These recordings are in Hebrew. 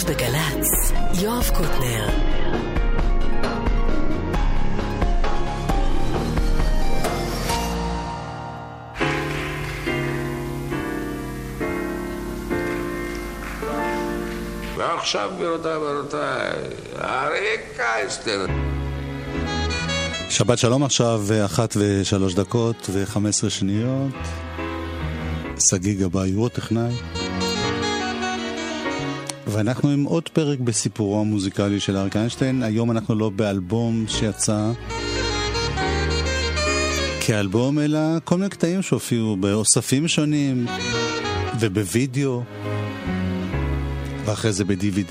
בגלץ, יואב קוטנר. ועכשיו גבירותיי, אריק איינשטיין. שבת שלום, עכשיו 1:03 ו-15. סגי גבאי הוא טכנאי, ואנחנו עם עוד פרק בסיפורו המוזיקלי של אריק איינשטיין. היום אנחנו לא באלבום שיצא כאלבום, אלא כל מיני קטעים שהופיעו באוספים שונים ובווידאו ואחרי זה ב-DVD.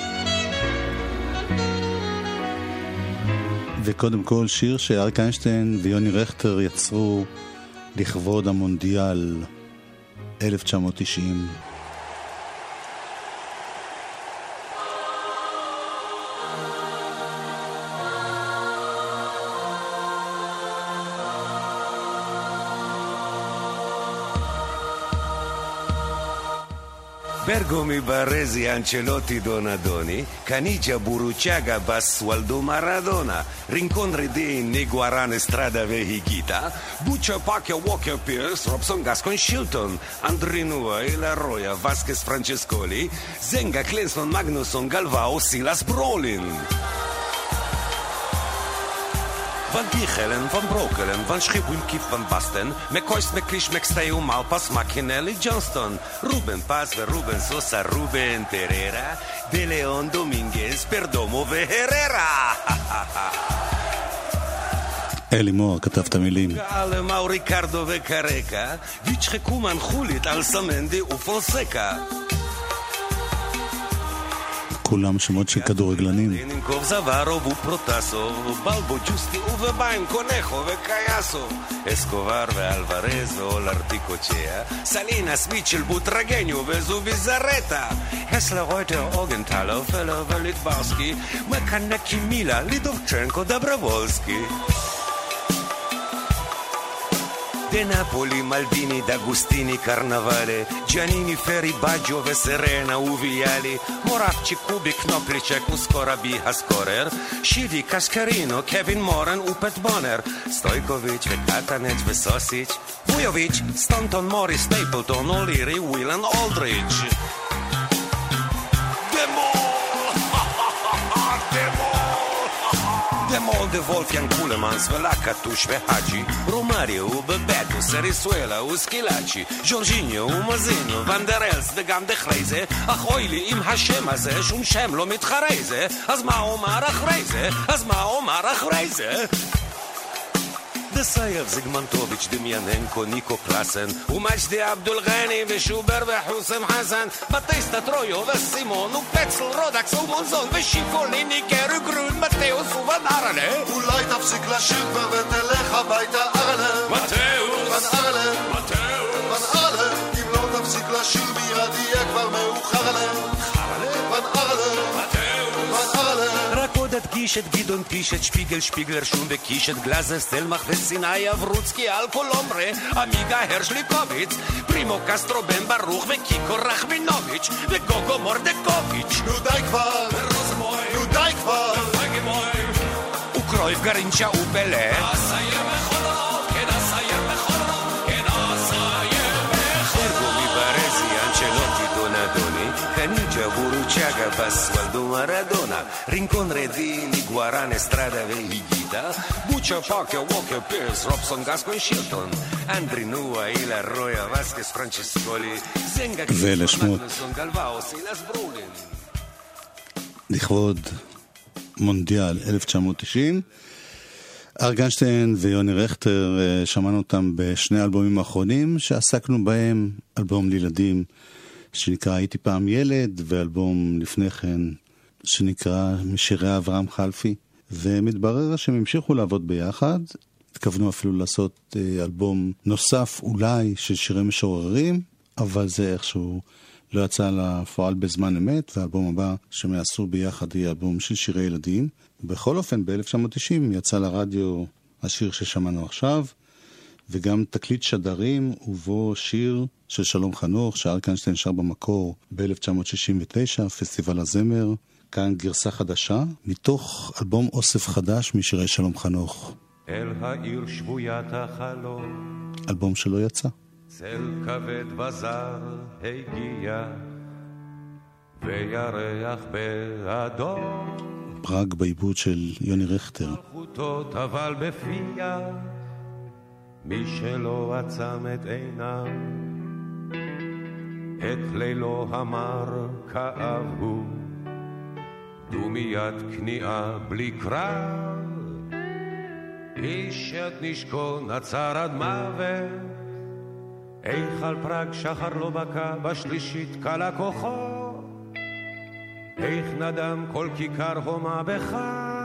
וקודם כל שיר שאריק איינשטיין ויוני רכטר יצרו לכבוד המונדיאל 1990. Bergomi, Barresi, Ancelotti, Donadoni, Canigia, Buruciaga, Basualdo, Maradona, Rincontre di Niguaran, Estrada, Vehigita, Buccia, Pacchia, Walker, Pierce, Robson, Gascon, Shilton, Andrinua, Elaroya, Vasquez, Francescoli, Zenga, Clenson, Magnusson, Galvao, Silas, Brolin. Van Dichelen, Van Brokelen, Van Schipwim, Kief, Van Basten, McCoyst, McClish, McStay, Malpas, McKinley, Johnston, Ruben Paz, Ruben Sosa, Ruben Pereira, De Leon, Dominguez, Perdomo, Herrera. אלי מור כתב את המילים. Mauro Ricardo וקרקה, ויצ'חקו מנחולית על סמנדי ופורסקה. כולם שמות של כדורגלנים. נינקוב זווארוב ופרוטסו, בלבו ג'וסטי ובביין קונכו וקייסו, אסקובר ואלוורז ואולרטיקוצ'יה, סלינס מיטשל בוטרגניו וזובי זרטה, הסלר רויטר אוגנטלו פלר וליטברסקי, מקנקי מילה לידובצ'נקו דברבולסקי. De Napoli, Maldini, D'Agostini, Carnavale, Giannini, Ferri, Baggio, Serena, Uviali, Moravci, Kubi, Knoplicek, Uskorabi, Haskorer, Shidi, Kaskarino, Kevin Moran, Upet Bonner, Stojkovic, Katanec, Vesosic, Vujovic, Stanton, Morris, Stapleton, O'Leary, Whelan, Aldridge. Demol de Wolfgang Kulemans, Velakatush, Vehaji, Romario, Bebeto, Serisuela, Uskilaci, Jorginho, Mazinho, Van der Els, וגם דחרי זה, אך אוי לי עם השם הזה, שום שם לא מתחרי זה, אז מה אומר אחרי זה? אז מה אומר אחרי זה? דסייב, זיגמנטוביץ', דמיאננקו, ניקו קלאסן, ומג'די אבדול גני, ושובר וחוסם חסן, בטייסטה טרויו וסימון, ופצל רודקס ומונזון, ושיפוליני, גרו גרון, מתאוס ובן ארלה. אולי תפסיק לשיר כבר ותלך הביתה ארלה. מתאוס, בן ארלה, מתאוס, בן ארלה, אם לא תפסיק לשיר מיד יהיה כבר מאוחר עלה. בן ארלה, מתאוס, בן ארלה. רק עוד הדגיש את גדעון פיש, את שפיגל, שפיגלר שום וקיש, את גלזר, סטלמח וסיני, אברוצקי, אלקולומרה, עמיגה הרשליקוביץ, פרימו קסטרו, בן ברוך וקיקו רחמינוביץ' וגוגו מורדקוביץ'. נו די כבר, נו די כבר, וקרויף גרינצ'ה ופלה, אסייר מכונות, כן אסייר מכונות, כן אסייר מכונות. ברגומי, ברזי, אנצ'לוטי, דונדוני, קניג'ה, בורוצ'אגה, בסוולדו, מרדונה, רינקונרה די, ניגוארן, אסטרדה והיגיטה, בוצ'ה, פאקיה, ווקר, פירס, רובסון, גסקון, שילטון, אנדרינואה, אילה, רויה, וסקס, פרנצ'סקולי, זנגה, מגנוסון, גלוואו, סילס, ברולין. לכבוד מונדיאל 1990, אריק איינשטיין ויוני רכטר, שמענו אותם בשני אלבומים האחרונים שעסקנו בהם, אלבום לילדים שנקרא הייתי פעם ילד, ואלבום לפני כן שנקרא משירי אברהם חלפי, ומתברר שהם המשיכו לעבוד ביחד, התכוונו אפילו לעשות אלבום נוסף אולי של שירי משוררים, אבל זה איכשהו לא יצא לפועל בזמן אמת, והאלבום הבא שהם יעשו ביחד יהיה אלבום של שירי ילדים. בכל אופן, ב-1990 יצא לרדיו השיר ששמענו עכשיו, וגם תקליט שדרים ובו שיר של שלום חנוך שאריק איינשטיין שר במקור ב-1969, פסטיבל הזמר. כאן גרסה חדשה מתוך אלבום אוסף חדש משירי שלום חנוך, אל העיר שבוית החלום, אלבום שלא יצא. צל כבד בזר הגיע וירח באדום, פראג בעיבוד של יוני רכטר. חוטות אבל בפיה מי שלא עצם את עיניו, את לילו המר כאב הוא, דומיית כניעה בלי קרב, איש את נשקו נצר עד מוות, איכל פראג שחר לא בקע, בשלישית קלה כוחו, איך נדם כל כיכר הומה בחג,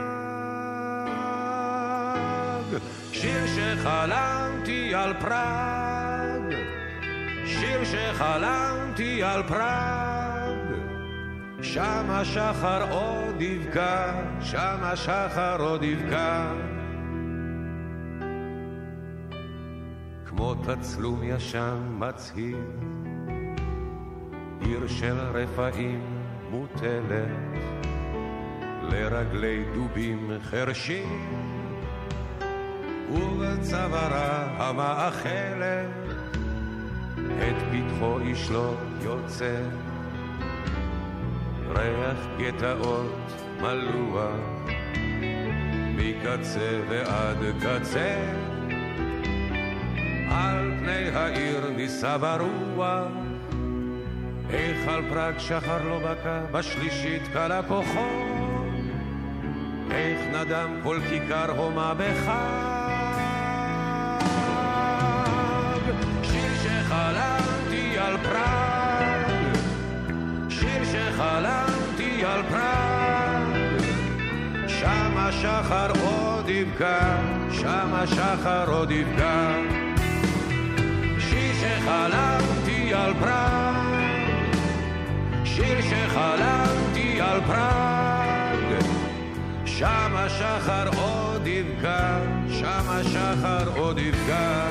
שיר שחלמתי על פראג, שיר שחלמתי על פראג, שם השחר עוד יבקע, שם השחר עוד יבקע, כמו תצלום ישן מצהיר, עיר של רפאים מוטלת לרגלי דובים חרשים, ובצווארה המאכלת את פתחו איש לא יוצא, ריח גטאות מלוע מקצה ועד קצה, על פני העיר ניסה ברוח, איך על פראג שחר לא בקע, בשלישית קלה כוחו, איך נדם כל כיכר הומה בחג, שיר שחלמתי על פראג, שיר שחלמתי על פראג, שם השחר עוד יבקע, שם השחר עוד יבקע, שיר שחלמתי על פראג, שיר שחלמתי על פראג, שם השחר עוד יבקע, שם השחר עוד יבקע.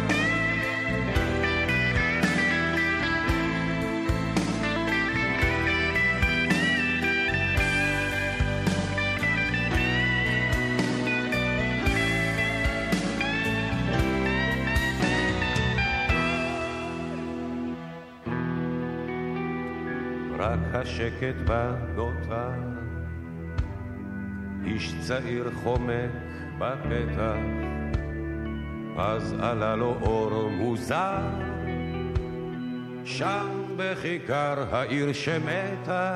רק השקט בנותר, איש צעיר חומק בפתח, אז עלה לו אור מוזר, שם בכיכר העיר שמתה,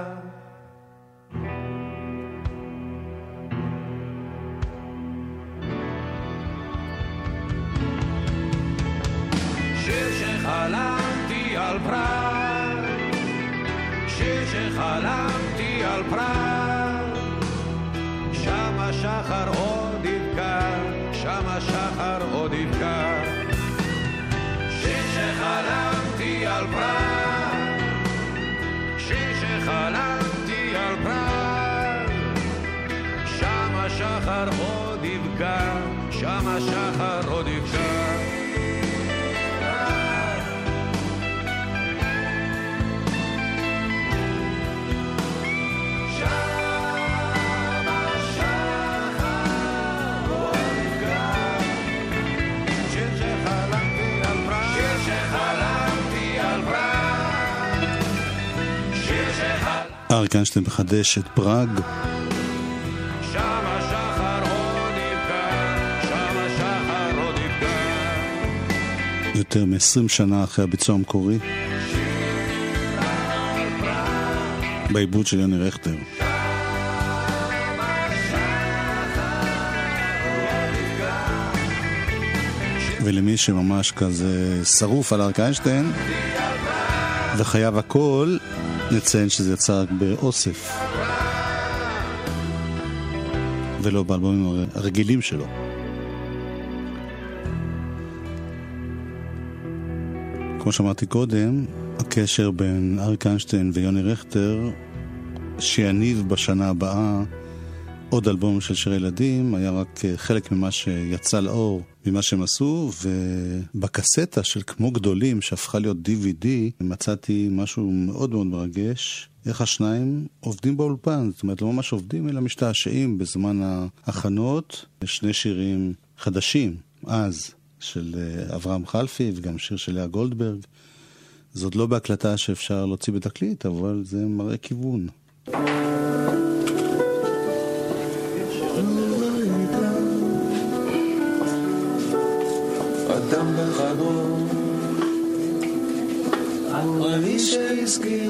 שיר שחלמתי על פראג, שיר שחלמתי על פראג, שם השחר עוד יבקע, שם השחר עוד יבקע, שיר שחלמתי על פראג, שיר שחלמתי על פראג, שם השחר עוד יבקע, שם השחר עוד יבקע. אריק איינשטיין מחדש את פראג, שם השחר עוד יבקע, שם השחר עוד יבקע, יותר מ-20 שנה אחרי הביצוע המקורי, בעיבוד של יוני רכטר. ולמי שממש כזה שרוף על אריק איינשטיין וחייב הכל, נציין שזה יצא רק באוסף ולא באלבומים הרגילים שלו. כמו שאמרתי קודם, הקשר בין אריק איינשטיין ויוני רכטר שיניב בשנה הבאה עוד אלבום של שירי ילדים, היה רק חלק ממה שיצא לאור, ממה שהם עשו, ובקסטה של כמו גדולים, שהפכה להיות DVD, מצאתי משהו מאוד מאוד מרגש, איך השניים עובדים באולפן, זאת אומרת, לא ממש עובדים, אלא משתעשעים בזמן ההכנות, שני שירים חדשים, אז, של אברהם חלפי, וגם שיר של לאה גולדברג. זאת לא בהקלטה שאפשר להוציא בתקליט, אבל זה מראה כיוון. אדם בחדרו אני שהזכיר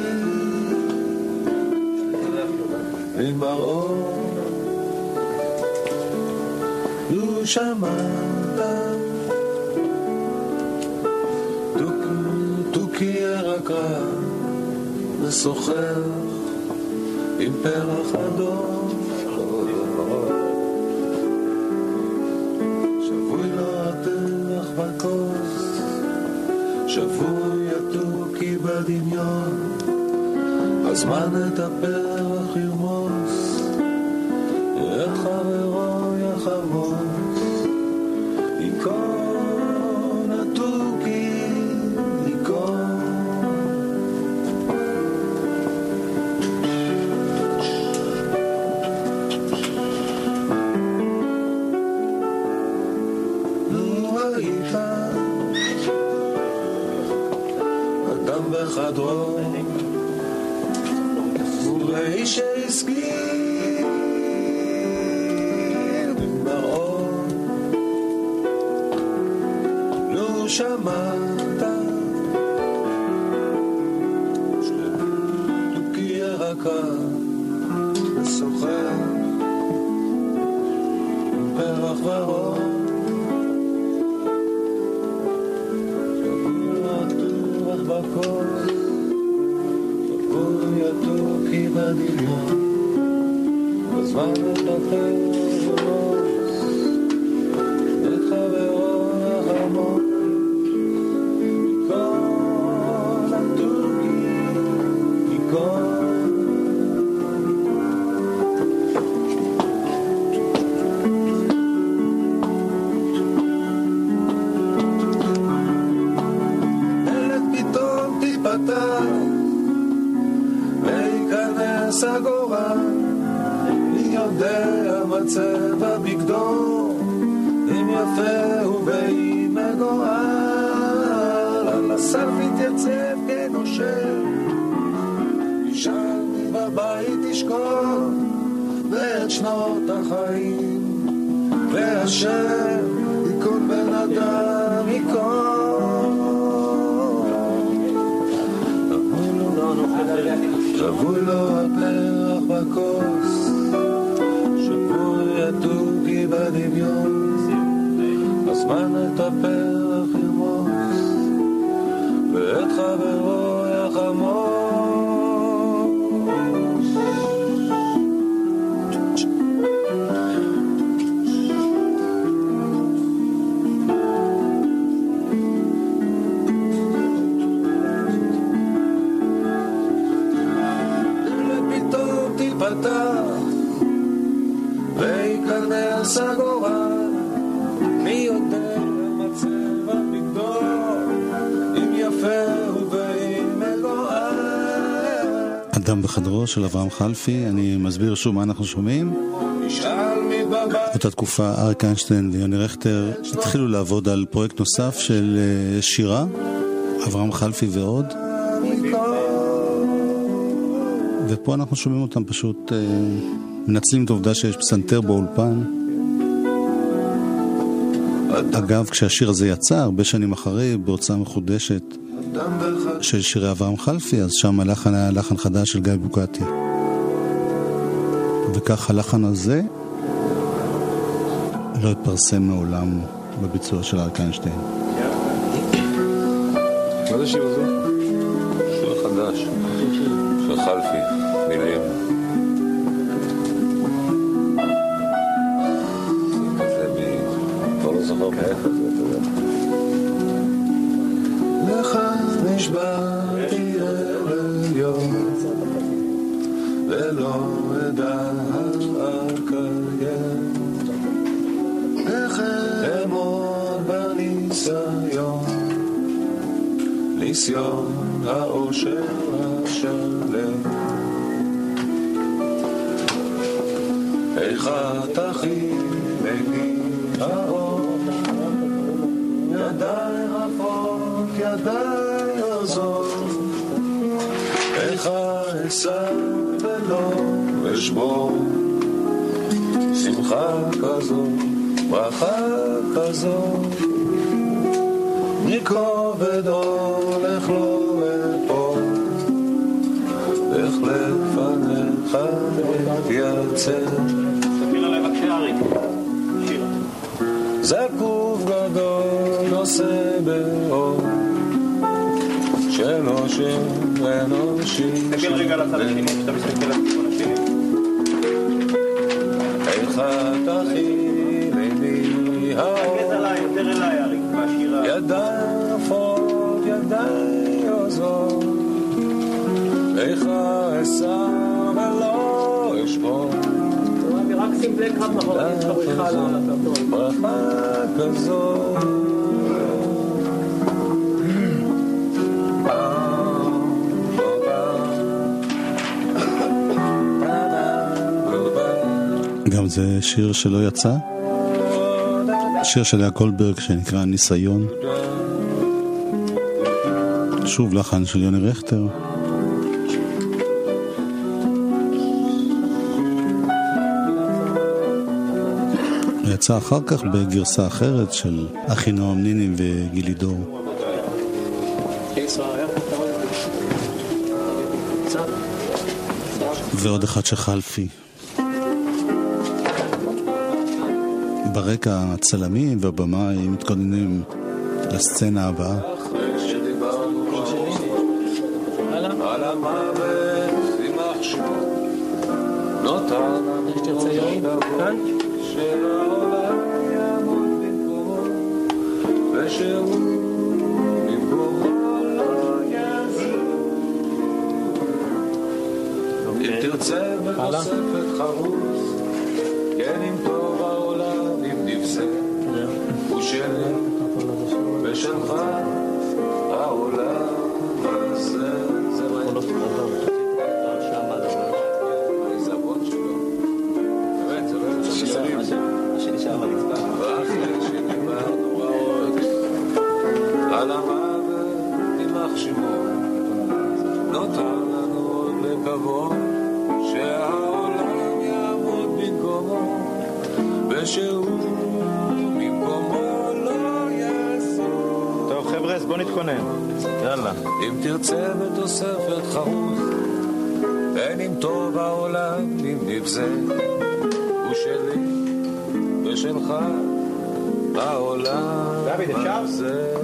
עם מראו לו שמעת תוקי ירקה ושוחח עם פרח אדום שבוי לו התרח בכוס שבוי התוקי בדמיון הזמן את הפרח ירמוס את חברו יחמוס יקון התוקי יקון לו היית אדם בחדרו ולאי שהסגיר במראות לא שמעת תוקי ירקה ושוחח פרח ורוד שבוע תורח בקור שבוי התוקי בדמיון בזמן לתחל ולוס את חברו החמור יקון התוקי יקון דלת פתאום תיפתח וייכנס הגורל מי יודע מה צבע בגדו אם יפה ואם מגועל על הסף יתייצב כנושר ישן בבית תשכון ואת שנות החיים ואשר יקון בן אדם יקון שבוי לו הפרח בכוס שבוי התוקי בדמיון הזמן את הפרח ירמוס ואת חברו יחמוס וייכנס הגורל מי יודע מה צבע בגדו אם יפה ואם מגועל. אדם בחדרו של אברהם חלפי. אני מסביר שוב מה אנחנו שומעים. באותה תקופה אריק איינשטיין ויוני רכטר התחילו לעבוד על פרויקט נוסף של שירה, אברהם חלפי ועוד, ופה אנחנו שומעים אותם פשוט מנצלים את העובדה שיש פסנתר באולפן. אגב, כשהשיר הזה יצא הרבה שנים אחרי בהוצאה מחודשת של שירי אברהם חלפי, אז שם הלחן היה לחן חדש של גיא בוקטי, וכך הלחן הזה לא התפרסם מעולם בביצוע של אריק איינשטיין. מה זה שיר הזה? שיר חדש של חלפי, מילים כזה כבר לא זוכר מאיפה זה, אתה יודע. לך נשבעתי אל יום ולא אדע על כך ניסיון האושר השלם. איך תכילני האור, ידיי רפות, ידיי עוזות, איך אשא ולא אשבור, שמחה כזאת, ברכה כזאת, מכובד הולך לו אפול, איך לפניך אתייצב. תסביר עליי בבקשה אריק, שיר. זקוף גדול נושא באור, שלא שם אנושי. תסתכל רגע לצד השני, כשאתה מסתכל על הכיוון השני. איך תכילני האור, תגז עליי, יותר אליי אריק, מהשירה. ידיי רפות, ידיי עוזות, איך אשא ולא אשבור, רק שים בלק אחד מאחור, אני צריך בריחה על הסרטון. ברכה כזאת. גם זה שיר שלא יצא, שיר של לאה גולדברג שנקרא ניסיון, שוב לחן של יוני רכטר. יצא אחר כך בגרסה אחרת של אחינועם ניני וגילי דור. ועוד אחד שחלפי. ברקע הצלמים והבמאי מתכוננים לסצנה הבאה. על המוות יימח שמו, נותר לנו כאן שהעולם יעמוד במקומו, ושהוא במקומו לא יעזור. אם תרצה בתוספת חרוץ, כן אם טוב העולם, אם נפסה, הוא שלי ושלך העולם הזה. על המוות יימח שמו, נותר לנו עוד לקוות שהעולם יעמוד במקומו, ושהוא במקומו לא יעזור. טוב חבר'ה, אז בוא נתכונן. יאללה. אם תרצה בתוספת חרוץ, אין אם טוב העולם אם נבזה, הוא שלי ושלך העולם הזה.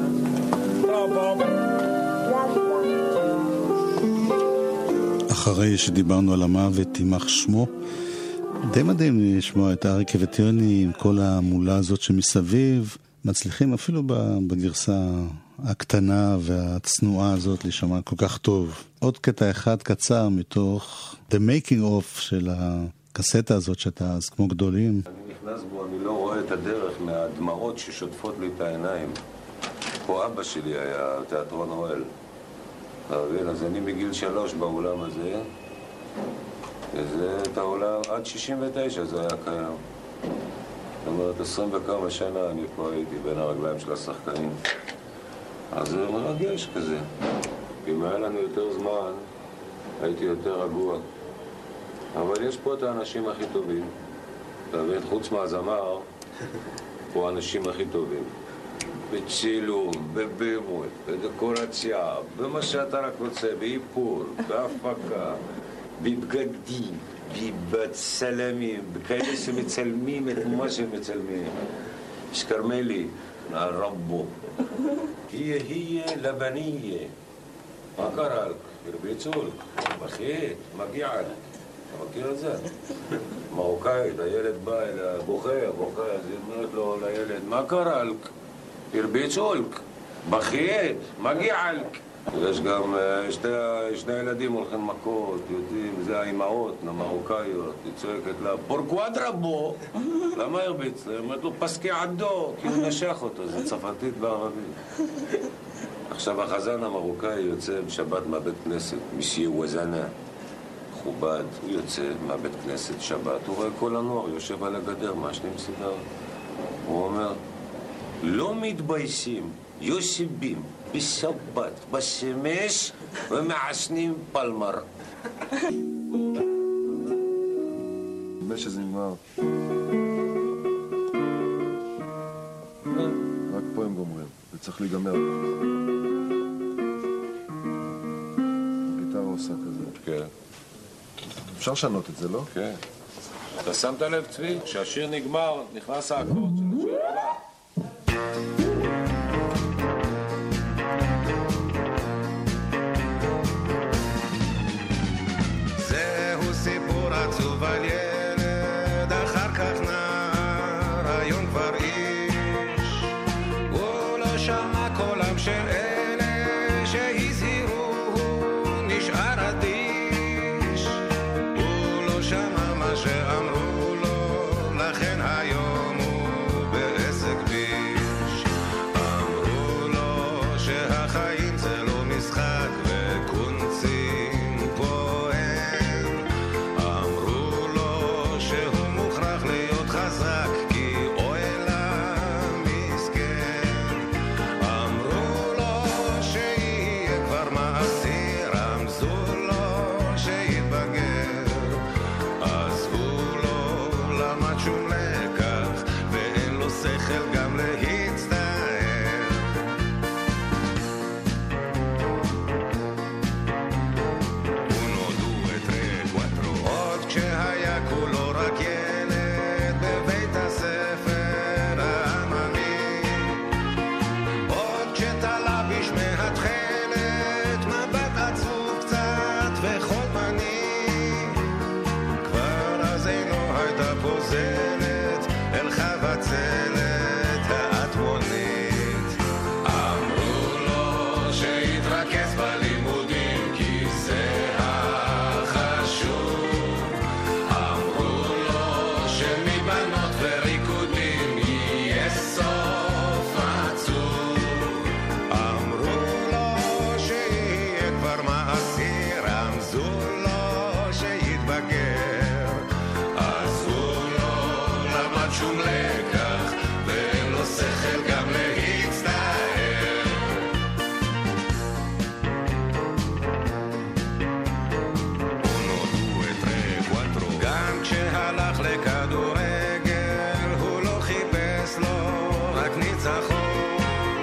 אחרי שדיברנו על המוות יימח שמו, די מדהים לשמוע את אריק וטיוני עם כל המולה הזאת שמסביב, מצליחים אפילו בגרסה הקטנה והצנועה הזאת להישמע כל כך טוב. עוד קטע אחד קצר מתוך The Making of של הקסטה הזאת שאתה אז כמו גדולים. אני נכנס בו, אני לא רואה את הדרך מהדמעות ששוטפות לי את העיניים. פה אבא שלי היה תיאטרון אוהל. אז אני מגיל 3 באולם הזה, וזה את העולם עד 69 זה היה קיים. זאת אומרת, 20 וכמה שנה אני פה הייתי בין הרגליים של השחקנים. אז זה מרגש כזה. אם היה לנו יותר זמן, הייתי יותר רגוע. אבל יש פה את האנשים הכי טובים. אתה מבין, חוץ מהזמר, פה האנשים הכי טובים. בצילום, בבימוי, בדקורציה, במה שאתה רק רוצה, באיפור, בהפקה, בבגדים, בצלמים, בכאלה שמצלמים את מה שמצלמים. שכרמלי, רבו. היא לבניה. מה קרה לך? הרביצול, בכית, מגיע לך. אתה מכיר את זה? מרוקאית, הילד בא אליה, בוכה, אז היא אומרת לו לילד, מה קרה לך? הרביצו לך, בכית, מגיע לך. יש גם שני ילדים הולכים מכות, יודעים, זה האימהות, המרוקאיות, היא צועקת לה, פורקוואדרה בו. למה הרביץ לה? היא אומרת לו, פסקי עדו, כי הוא נשך אותו, זה צרפתית בערבית. עכשיו החזן המרוקאי יוצא בשבת מהבית כנסת, מסיה וזנה, מכובד, הוא יוצא מהבית כנסת שבת, הוא רואה כל הנוער יושב על הגדר, מעשנים סיגר. הוא אומר, לא מתביישים, יושבים בשבת, בשמש, ומעשנים פלמר. נדמה שזה נגמר. רק פה הם גומרים, זה צריך להיגמר. הגיטרה עושה כזה. כן. אפשר לשנות את זה, לא? כן. אתה שמת לב, צבי? כשהשיר נגמר, נכנס האקורד של השיר הבא. זהו סיפור עצוב על ילד, אחר כך נער, היום כבר איש. הוא לא שמע קולם של אלה שהזהירו, הוא נשאר אדיש. הוא לא שמע מה שאמרו לו, לכן היום הוא בעסק ביש. אמרו לו שהחיים זה לא משחק וקונצים פה אין. אמרו לו שהוא מוכרח להיות חזק כי אוי למסכן. אמרו לו שיהיה כבר מעשי, רמזו לו שיתבגר. עזבו לו למד שום לקח ואין לו שכל גם להצטער. Uno, due, tre, quattro. עוד כשהיה כולו רק ילד בבית הספר העממי, עוד כשתלה בשמי התכלת מבט עצוב קצת וחולמני, כבר אז אינו הייתה פוזלת אל חבצלת האטמונית. אמרו לו שיתרכז בלימודים כי זה החשוב. אמרו לו שמבנות וריקודים יהיה סוף עצוב. אמרו לו שיהיה כבר מעשי, רמזו לו שיתבגר. עזבו לו למד שום לקח ואין לו שכל גם להצטער. Uno, due, tre, quattro. גם כשהלך לכדורגל הוא לא חיפש לו רק ניצחון,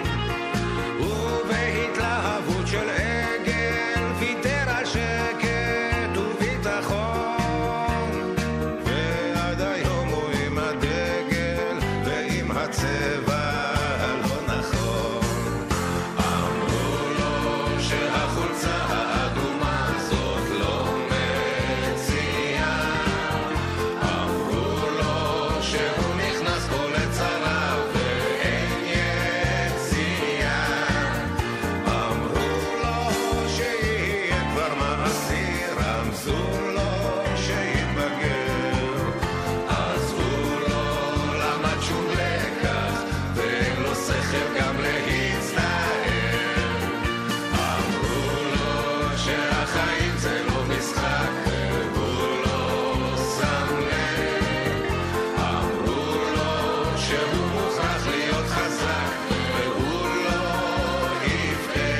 ובהתלהבות של עגל ויתר על שקט וביטחון. ועד היום הוא עם הדגל ועם הצבע הלא נכון. אמרו לו שהחולצה האדומה זאת לא מציאה. אמרו לו שהוא נכנס פה לצרה ואין יציאה. אמרו לו שיהיה כבר מעשי, רמזו לו שיתבגר. עזבו לו למד שום לקח ואין לו שכל גם להצטער. אמרו לו שהחיים זה לא משחק והוא לא שם לב. אמרו לו שהוא מוכרח להיות חזק והוא לא יבכה.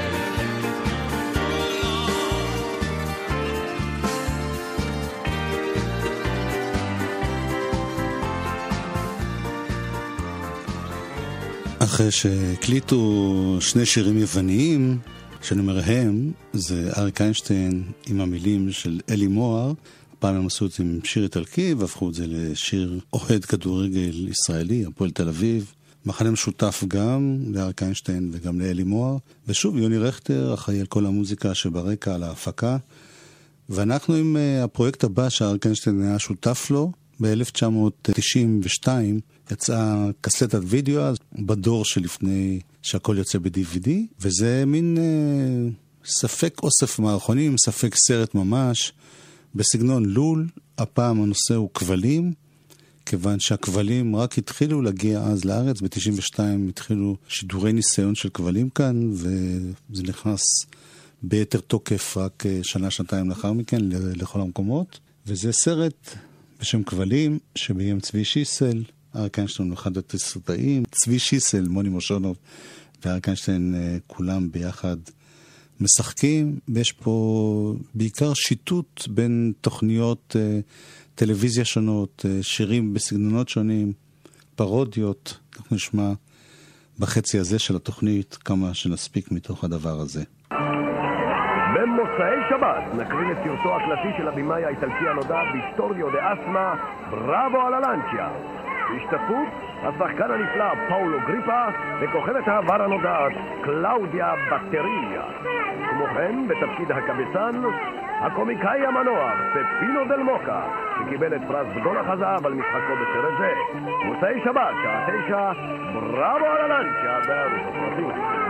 אחרי שהקליטו שני שירים יווניים, שאני אומר הם, זה אריק איינשטיין עם המילים של אלי מוהר. הפעם הם עשו את זה עם שיר איטלקי והפכו את זה לשיר אוהד כדורגל ישראלי, הפועל תל אביב. מחנה משותף גם לאריק איינשטיין וגם לאלי מוהר. ושוב, יוני רכטר אחראי על כל המוזיקה שברקע, על ההפקה. ואנחנו עם הפרויקט הבא שאריק איינשטיין היה שותף לו, ב-1992 יצאה קסטת וידאו בדור שלפני שהכל יוצא ב-DVD, וזה מין ספק אוסף מערכונים, ספק סרט ממש, בסגנון לול. הפעם הנושא הוא כבלים, כיוון שהכבלים רק התחילו להגיע אז לארץ, ב-92 התחילו שידורי ניסיון של כבלים כאן, וזה נכנס ביתר תוקף רק שנה-שנתיים לאחר מכן לכל המקומות. וזה סרט בשם כבלים, שביים צבי שיסל, אריק איינשטיין אחד התסריטאים, צבי שיסל, מוני מושונוב ואריק איינשטיין כולם ביחד משחקים, ויש פה בעיקר שיטוט בין תוכניות טלוויזיה שונות, שירים בסגנונות שונים, פרודיות. אנחנו נשמע בחצי הזה של התוכנית כמה שנספיק מתוך הדבר הזה. במוצאי שבת נקרין את סרטו הקלאסי של הבימאי האיטלקי הנודע ויטוריו דה אסמה, בראבו על הלנצ'יה. בהשתתפות השחקן הנפלא פאולו גריפה וכוכבת העבר הנודעת קלאודיה בטריה. כמו כן, בתפקיד הקבצן, הקומיקאי המנוח פפינו דל מוקה, שקיבל את פרס בדולח הזהב על משחקו בסרט זה. מוצאי שבת, שעה 9, בראבו על הלנצ'יה בערוץ הסרטים.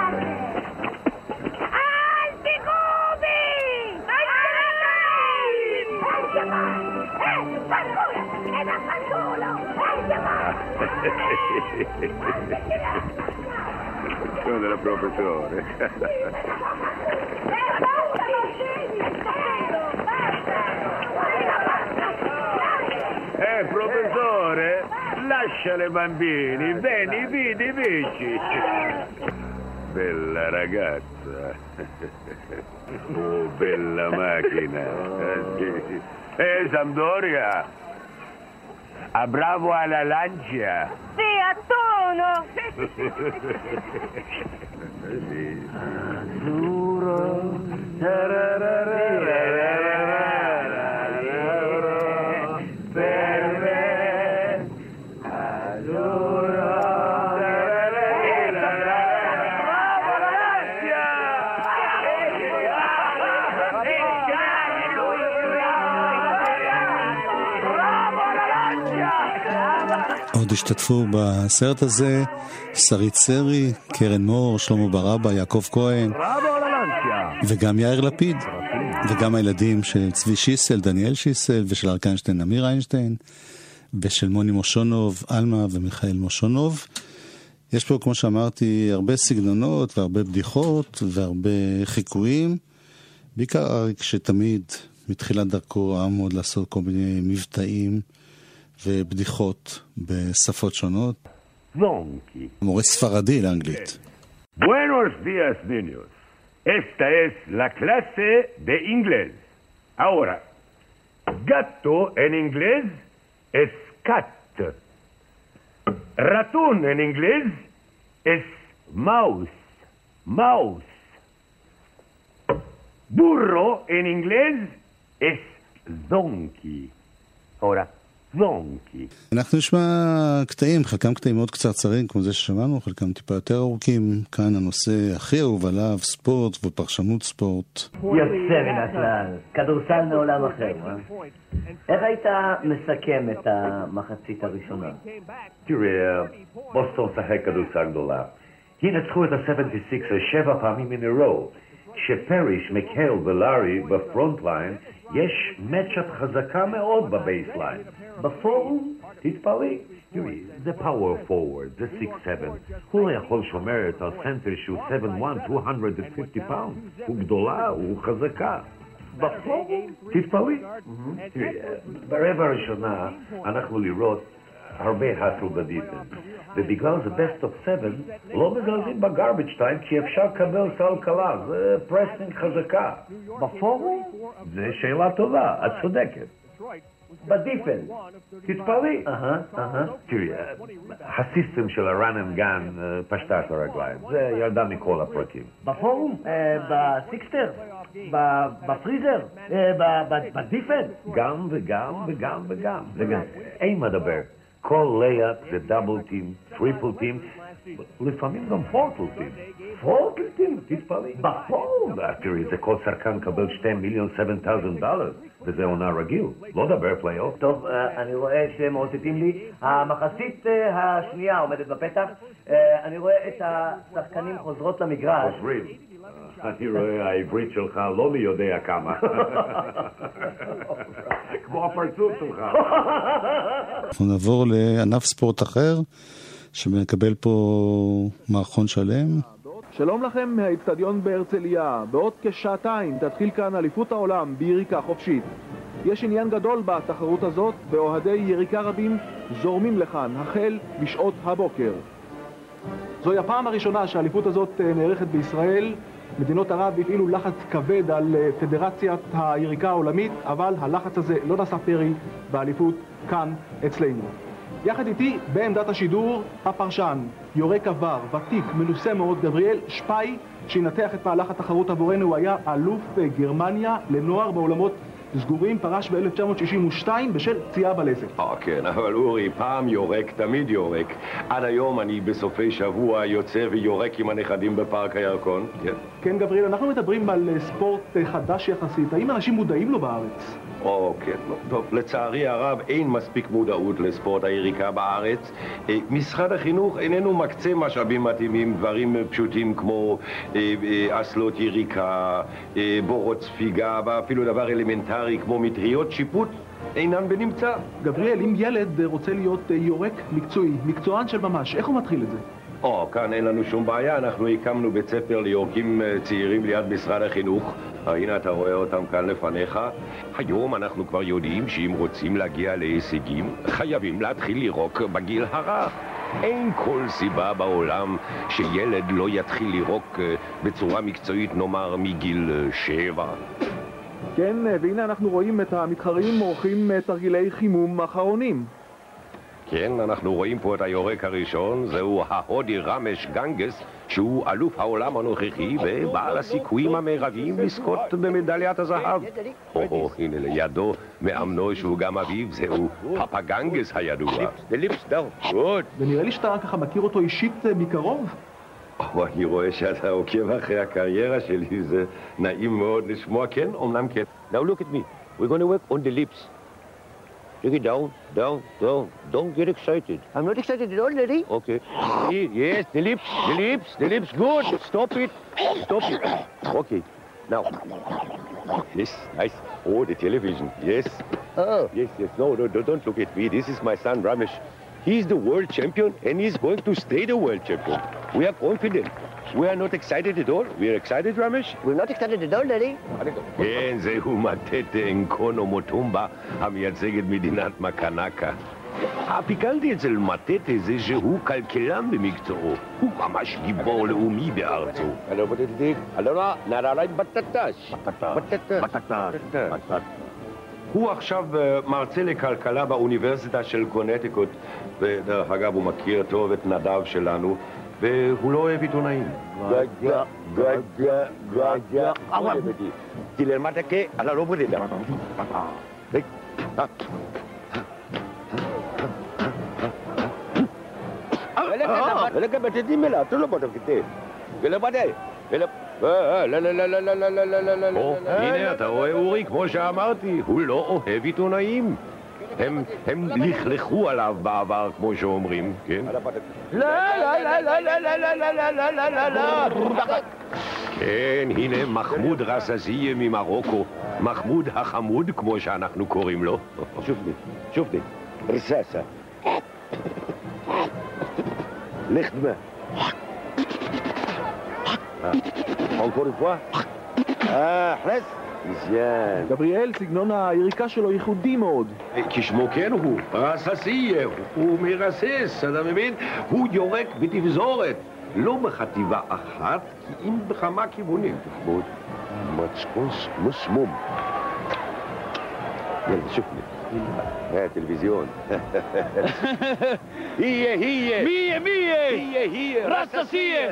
Sono della professore. Professore, lascia le bambini, vieni, vedi, vici. Bella ragazza. Oh, bella macchina. Sampdoria. A bravo alla Lancia. Sì, a tono. Azzurro. Per me. Azzurro. Bravo alla Lancia. עוד השתתפו בסרט הזה שרית סרי, קרן מור, שלמה ברבא, יעקב כהן וגם יאיר לפיד וגם הילדים של צבי שיסל, דניאל שיסל, ושל אריק איינשטיין, אמיר איינשטיין, ושל מוני מושונוב, אלמה ומיכאל מושונוב. יש פה, כמו שאמרתי, הרבה סגנונות והרבה בדיחות והרבה חיקויים, בעיקר אריק שתמיד מתחילת דרכו אהב מאוד לעשות כל מיני מבטאים ובדיחות בשפות שונות. Zonchi. מורה ספרדי לאנגלית. Buenos días, niños. Esta es la clase de inglés. Ahora, gato en inglés es cat. Ratón en inglés es mouse. Mouse. Burro en inglés es donkey. Ahora, donkey. אנחנו נשמע קטעים, חלקם קטעים מאוד קצרצרים כמו זה ששמענו, חלקם טיפה יותר ארוכים. כאן הנושא הכי אהוב עליו, ספורט ופרשנות ספורט. יוצא מן הכלל, כדורסל מעולם אחר. איך היית מסכם את המחצית הראשונה? תראה, בוסטון שחק כדורסל גדולה. ינצחו את ה-76 7 פעמים in a row. שפריש, מקהל ולארי בפרונט ליין, יש מצ'אפ חזקה מאוד בבייסליין. בפורום, תתפלאי. תראי, זה פאוור פורוורד, זה 6-7. הוא לא יכול שומר את הסנטר שהוא 7-1, 250 פאונד. הוא גדולה, הוא חזקה. בפורום, תתפלאי. תראי, ברבע הראשונה אנחנו לראות הרבה הסל בדיפנס. ובגלל זה best of 7 לא מגלדים בגרבג' טיים כי אפשר לקבל סל קלה, זה פרסינג חזקה. בפורום? זה שאלה טובה, את צודקת. בדיפנס. תתפלאי. תראי, הסיסטם של הרן אנד גן פשטה את הרגליים, זה ירדה מכל הפרקים. בפורום? בסיקסטר? בפריזר? בדיפנס? גם וגם וגם וגם. אין מדבר. כל לייאפ זה דאבל טים, טריפל טים, לפעמים גם פורטל טים. פורטל טים, תתפלאי. בפורט. תראי, זה כל שחקן קבל $2,700,000, וזה עונה רגיל. לא דבר פלייאוף. טוב, אני רואה שמאותתים לי. המחצית השנייה עומדת בפתח. אני רואה את השחקנים חוזרות למגרש. חוזרים. אני רואה העברית שלך לא מי יודע כמה. איפה הפרצוף שלך? אנחנו נעבור לענף ספורט אחר, שמקבל פה מערכון שלם. שלום לכם מהאצטדיון בהרצליה. בעוד כשעתיים תתחיל כאן אליפות העולם ביריקה חופשית. יש עניין גדול בתחרות הזאת, ואוהדי יריקה רבים זורמים לכאן החל בשעות הבוקר. זוהי הפעם הראשונה שהאליפות הזאת נערכת בישראל. מדינות ערב הפעילו לחץ כבד על פדרציית היריקה העולמית, אבל הלחץ הזה לא נשא פרי באליפות כאן אצלנו. יחד איתי בעמדת השידור הפרשן, יורק עבר, ותיק, מנוסה מאוד, גבריאל שפאי, שינתח את מהלך התחרות עבורנו. הוא היה אלוף גרמניה לנוער בעולמות סגורים, פרש ב-1962 בשל פציעה בלסת. כן, אבל אורי, פעם יורק, תמיד יורק. עד היום אני בסופי שבוע יוצא ויורק עם הנכדים בפארק הירקון. כן, גבריאל, אנחנו מדברים על ספורט חדש יחסית. האם אנשים מודעים לו בארץ? כן, טוב, לצערי הרב אין מספיק מודעות לספורט היריקה בארץ. משרד החינוך איננו מקצה משאבים מתאימים, דברים פשוטים כמו אסלות יריקה, בורות ספיגה, ואפילו דבר אלמנטרי כמו מטריות שיפוט אינן בנמצא. גבריאל, אם ילד רוצה להיות יורק מקצועי, מקצוען של ממש, איך הוא מתחיל את זה? כאן אין לנו שום בעיה, אנחנו הקמנו בית ספר ליורקים צעירים ליד משרד החינוך. הנה אתה רואה אותם כאן לפניך. היום אנחנו כבר יודעים שאם רוצים להגיע להישגים, חייבים להתחיל לירוק בגיל הרך. אין כל סיבה בעולם שילד לא יתחיל לירוק בצורה מקצועית, נאמר מגיל 7. כן, והנה אנחנו רואים את המתחרים עורכים תרגילי חימום אחרונים. כן, אנחנו רואים פה את היורק הראשון, זהו ההודי רמש גנגס, שהוא אלוף העולם הנוכחי ובעל הסיכויים המרביים לזכות במדליית הזהב. הנה לידו מאמנו שהוא גם אביו, זהו פאפה גנגס הידוע. ונראה לי שאתה ככה מכיר אותו אישית מקרוב? אני רואה שאתה עוקב אחרי הקריירה שלי, זה נעים מאוד לשמוע. כן, אומנם כן. Now look at me, we're going to work on the lips. Take it down, down, down. Don't get excited. I'm not excited at all, Daddy. Okay. Yes, the lips, good. Stop it. Okay. Now. Yes, nice. Oh, the television. Yes. Oh. Yes. No, don't look at me. This is my son, Ramesh. He's the world champion and he's going to stay the world champion. We are confident. We are not excited at all. We are excited, Ramesh? We're not excited at all, Daddy. כן, זהו מטט אנקונו מוטומבה, המייצג את מדינת מקנקה. הפיקנטי אצל מטט זה שהוא כלכלן במקצועו. הוא ממש גיבור לאומי בארצו. הוא עכשיו מרצה לכלכלה באוניברסיטה של קונטיקוט, ודרך אגב הוא מכיר טוב את נדב שלנו, והוא לא אוהב עיתונאים. גגה. תלמד que a la lobo de la. Vele que metete mela, tú lo puedes quitar. Vele pade. Vele הנה אתה רואה אורי, כמו שאמרתי, הוא לא אוהב עיתונאים. הם לכלכו עליו בעבר, כמו שאומרים, כן? כן, הנה מחמוד רססיה ממרוקו, מחמוד החמוד, כמו שאנחנו קוראים לו. שופני, רססה. לכדמה. encore une fois. חלס. מצוין. גבריאל, סגנון היריקה שלו ייחודי מאוד. כשמו כן הוא, רססיה, הוא מרסס, אתה מבין? הוא יורק בתפזורת, לא בחטיבה אחת, כי אם בכמה כיוונים. מאוד מצקוס מסמום. יאללה, שופני. הטלוויזיון. מיה. רססיה.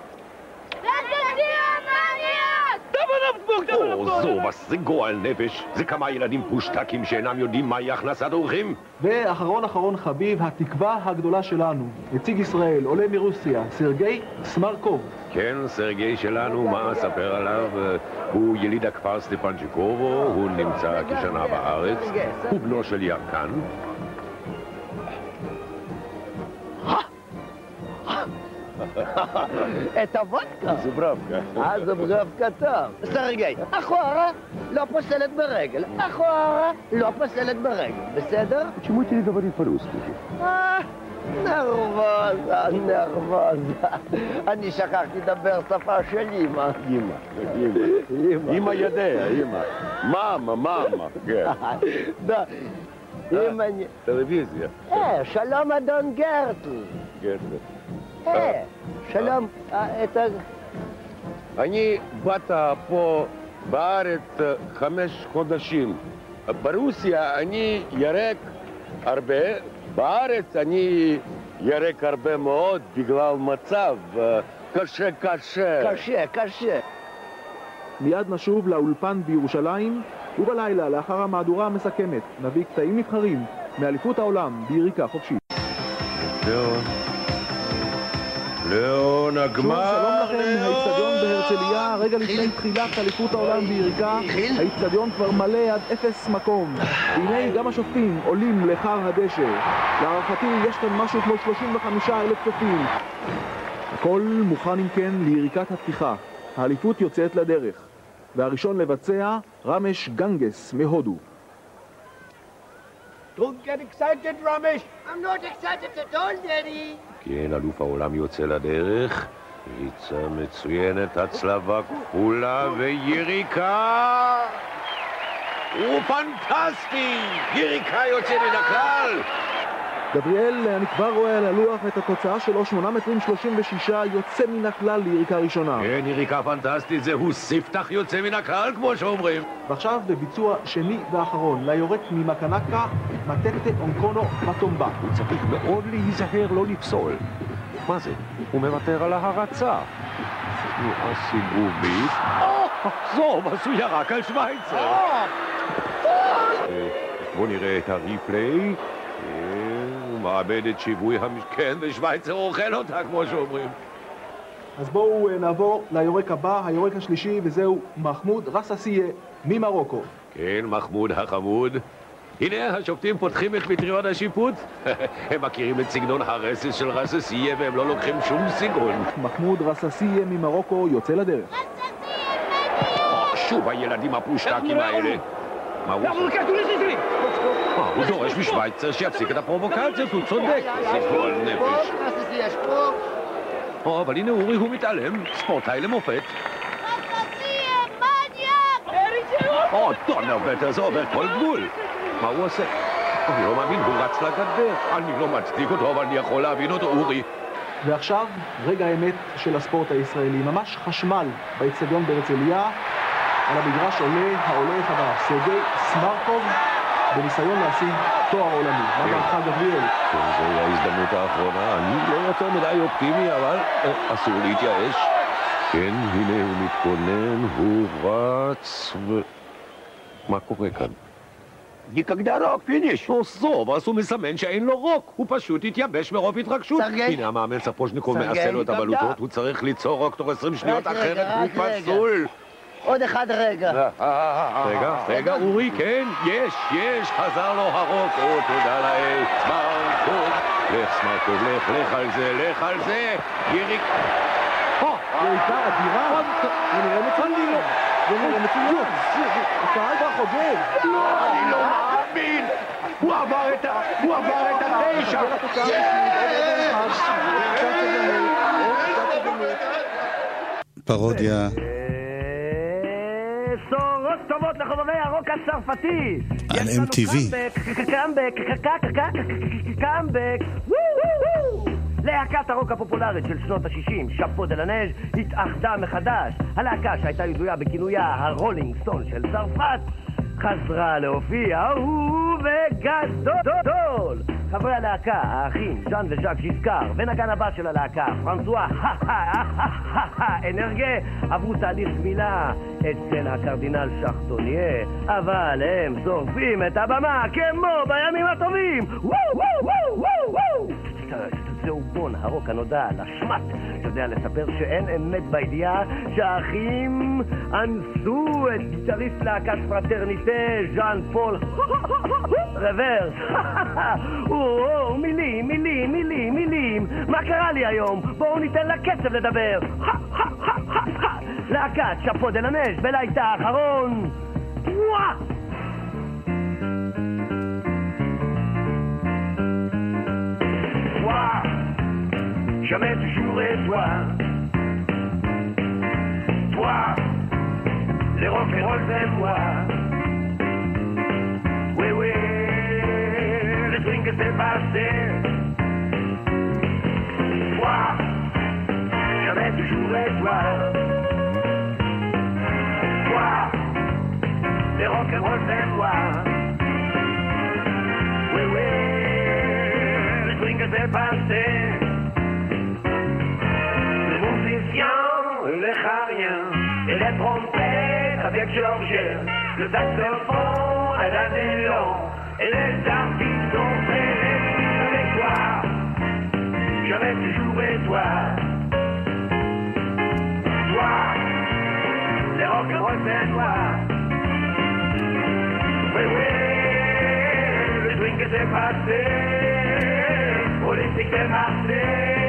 זו, זה גועל נפש. זה כמה ילדים פושטקים שאינם יודעים מהי הכנסת אורחים. ואחרון חביב, התקווה הגדולה שלנו, נציג ישראל, עולה מרוסיה, סרגי סמרקוב. כן, סרגי שלנו, מה אספר עליו? הוא יליד הכפר סטפנצ'יקובו, הוא נמצא כשנה בארץ, הוא בנו של ירקן. Это водка? Зубравка. Зубравка там. Сергей, אחורה. לא פוסלת ברגל. אחורה, לא פוסלת ברגל. בסדר? Почему ты не говоришь по-русски? נרבוזה. אני שכחתי לדבר שפה של אמא. אמא יודע, אמא. מאמה, כן. טלוויזיה. שלום אדון גרטל. שלום, אני באת פה בארץ 5 חודשים. ברוסיה אני ירק הרבה, בארץ אני ירק הרבה מאוד בגלל מצב קשה. קשה. מיד נשוב לאולפן בירושלים, ובלילה, לאחר המהדורה המסכמת, נביא קטעים נבחרים מאליפות העולם ביריקה חופשית. ליאון הגמר. שלום לכם מהאיצטדיון בהרצליה, רגע לפני תחילת אליפות העולם ביריקה. האיצטדיון כבר מלא עד 0 מקום. והנה גם השופטים עולים לחר הדשא. להערכתי יש כאן משהו כמו 35,000 צופים. הכל מוכן אם כן ליריקת הפתיחה. האליפות יוצאת לדרך. והראשון לבצע רמש גנגס מהודו. Don't get excited, Ramesh. I'm not excited at all, Daddy. כן, אלוף העולם יוצא לדרך. ריצה מצוינת, הצלבה כפולה ויריקה. הוא פנטסטי! יריקה יוצא מן הכלל! גבריאל, אני כבר רואה על הלוח את התוצאה שלו, 8.36 יוצא מן הכלל ליריקה ראשונה. כן, יריקה פנטסטית, זהו ספתח יוצא מן הכלל, כמו שאומרים. ועכשיו בביצוע שני ואחרון, ליורק ממקנקה, מטטה אונקונו מטומבה. הוא צריך מאוד להיזהר לא לפסול. מה זה? הוא מוותר על ההרצה. תנועה סיבובית. זו, אז הוא ירק על שוויצר. בואו נראה את הריפליי. הוא מאבד את שיווי המשכן ושוויצר אוכל אותה, כמו שאומרים. אז בואו נעבור ליורק הבא, היורק השלישי, וזהו מחמוד רססיה ממרוקו. כן, מחמוד החמוד. הנה, השופטים פותחים את מטריון השיפוט. הם מכירים את סגנון הרסס של רססיה והם לא לוקחים שום סגנון. מחמוד רססיה ממרוקו יוצא לדרך. שוב הילדים הפושטקים האלה. מה הוא עושה? הוא דורש משוויצר שיפסיק את הפרובוקציות, הוא צודק. זה גועל נפש. אבל הנה אורי, הוא מתעלם. ספורטאי למופת. דונרבטר, זה עובר כל גבול. מה הוא עושה? אני לא מאמין, הוא רץ לגדר. אני לא מצדיק אותו, אבל אני יכול להבין אותו, אורי. ועכשיו, רגע האמת של הספורט הישראלי. ממש חשמל באצטדיון בהרצליה. על המגרש עולה העולה החדש, סרגי סמרקוב, בניסיון להשיג תואר עולמי. מה דעתך, גבריאל? כן, זוהי ההזדמנות האחרונה. אני לא יותר מדי אופטימי, אבל אסור להתייאש. כן, הנה הוא מתכונן, הוא רץ מה קורה כאן? никогда רוק, פיניש. טוב, אז הוא מסמן שאין לו רוק. הוא פשוט התייבש מרוב התרגשות. הנה המאמן ספוז'ניקוב מעשה לו את הבלוטות. הוא צריך ליצור רוק תוך 20 שניות, אחרת הוא פסול. עוד אחד רגע. רגע, אורי, כן, יש, חזר לו הרוק. תודה לאל, סמרקוב, לך על זה, יריק. יריקה אדירה. זה נראה מצוין. הקהל כבר חוגג. אני לא מאמין. הוא עבר את 9. פרודיה. בשורות טובות לחובבי הרוק הצרפתי. על MTV. קאמבק. להקת הרוק הפופולרית של שנות ה-60, שאפו דה לנז', התאחדה מחדש. הלהקה שהייתה ידועה בכינויה הרולינג סטון של צרפת חזרה להופיע ובגדול. חברי הלהקה, האחים ז'אן וז'אק ז'יסקר ונגן הבא של הלהקה פרנסואה אנרגה עברו תהליך גמילה אצל הקרדינל שחטוניה, אבל הם שורפים את הבמה כמו בימים הטובים. זהו בון הרוק הנודע לשמת שיודע לספר שאין אמת בידיעה שהאחים אנסו את גיטריסט להקת פרטרניטה ז'אן פול רוורס. מילים, מה קרה לי היום? בואו ניתן לקצב לדבר. להקת שאפו דה לנז' בלילה האחרון Jamais toujours et toi. Toi, les rock'n'roll c'est moi. Oui, oui, le swing que c'est passé. Toi, jamais toujours et toi. Toi, les rock'n'roll c'est moi. Oui, oui, le swing que c'est passé. Les musiciens, les chariens, et les trompettes avec Georges, le saxophone à la néon, et les artistes ont fait les filles avec toi. Jamais toujours et toi. Toi, les rock'n'roll c'est toi. Oui, oui, le swing que c'est passé, politique c'est marché.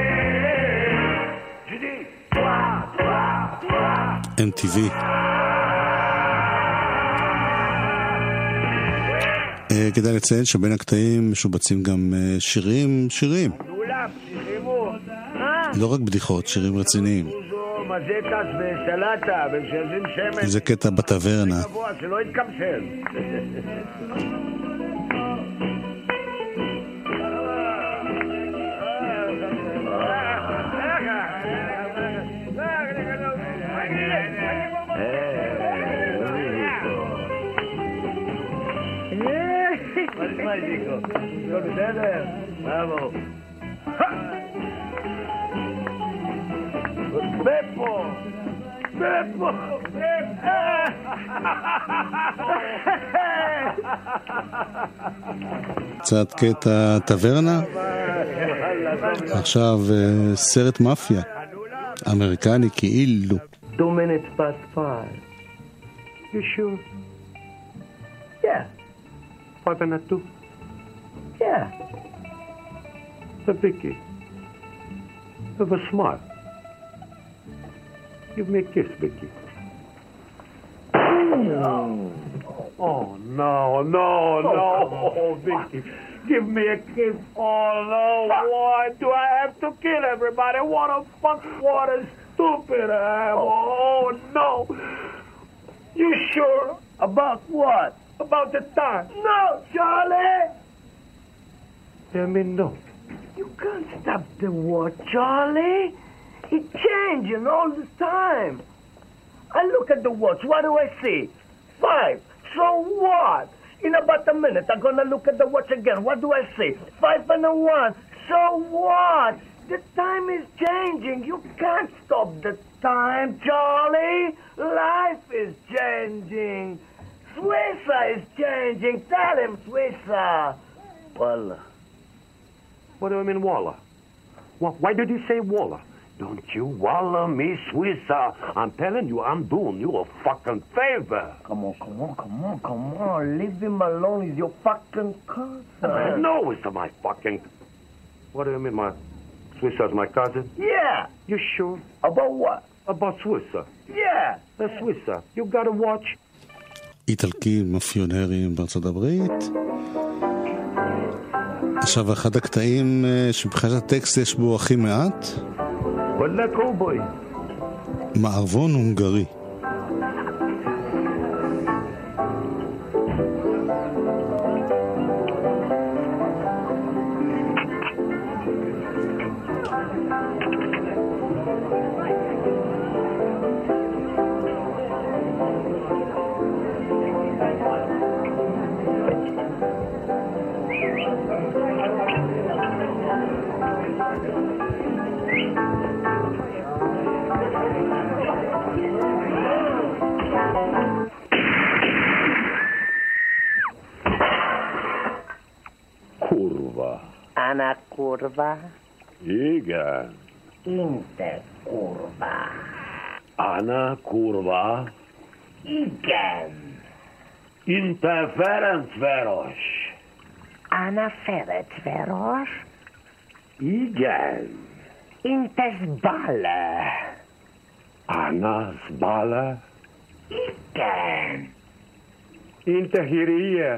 Je dis, toi, toi, toi. MTV. כדאי לציין שבין הקטעים משובצים גם שירים. לא רק בדיחות, שירים רציניים. זה קטע בטברנה. שלא יתקמשל. לא בסדר? בראבו. בפה! בפה! קצת קטע טברנה. עכשיו סרט מאפיה אמריקני כאילו. 2 minutes past 5. You sure? Yeah. 5:02. Yeah. But Vicky, have a smile. Give me a kiss, Vicky. Oh, no, Vicky. Give me a kiss. Oh, no, why do I have to kill everybody? What a fuck, what a stupid I am. Oh, no. You sure? About what? About the time. No, Charlie! Tell me no. You can't stop the watch, Charlie. It's changing all the time. I look at the watch. What do I see? 5. So what? In about a minute, I'm going to look at the watch again. What do I see? 5 and a 1. So what? The time is changing. You can't stop the time, Charlie. Life is changing. Swissa is changing. Tell him, Swissa. Walla. What do I mean, Walla? Why did you say Walla? Don't you Walla me, Swissa. I'm telling you, I'm doing you a fucking favor. Come on. Leave him alone. He's your fucking cousin. No, it's my fucking... What do you mean, my... Swissa's my cousin? Yeah. You sure? About what? About Swissa. Yeah. Swissa, you gotta watch... איטלקים, מאפיונרים בארצות הברית. עכשיו, אחד הקטעים שבחיית הטקסט יש בו הכי מעט. וואלה קובוי. מערבון הונגרי. Ana curva. Igen. Interkurva. Ana kurva. Igen. Interferencváros. Ana Ferencváros. Igen. Intesbala. Ana Zbala. Igen. Interhiria.